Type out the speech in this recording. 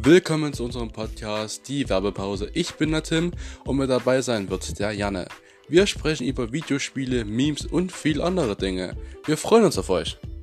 Willkommen zu unserem Podcast, die Werbepause. Ich bin der Tim und mit dabei sein wird der Janne. Wir sprechen über Videospiele, Memes und viel andere Dinge. Wir freuen uns auf euch.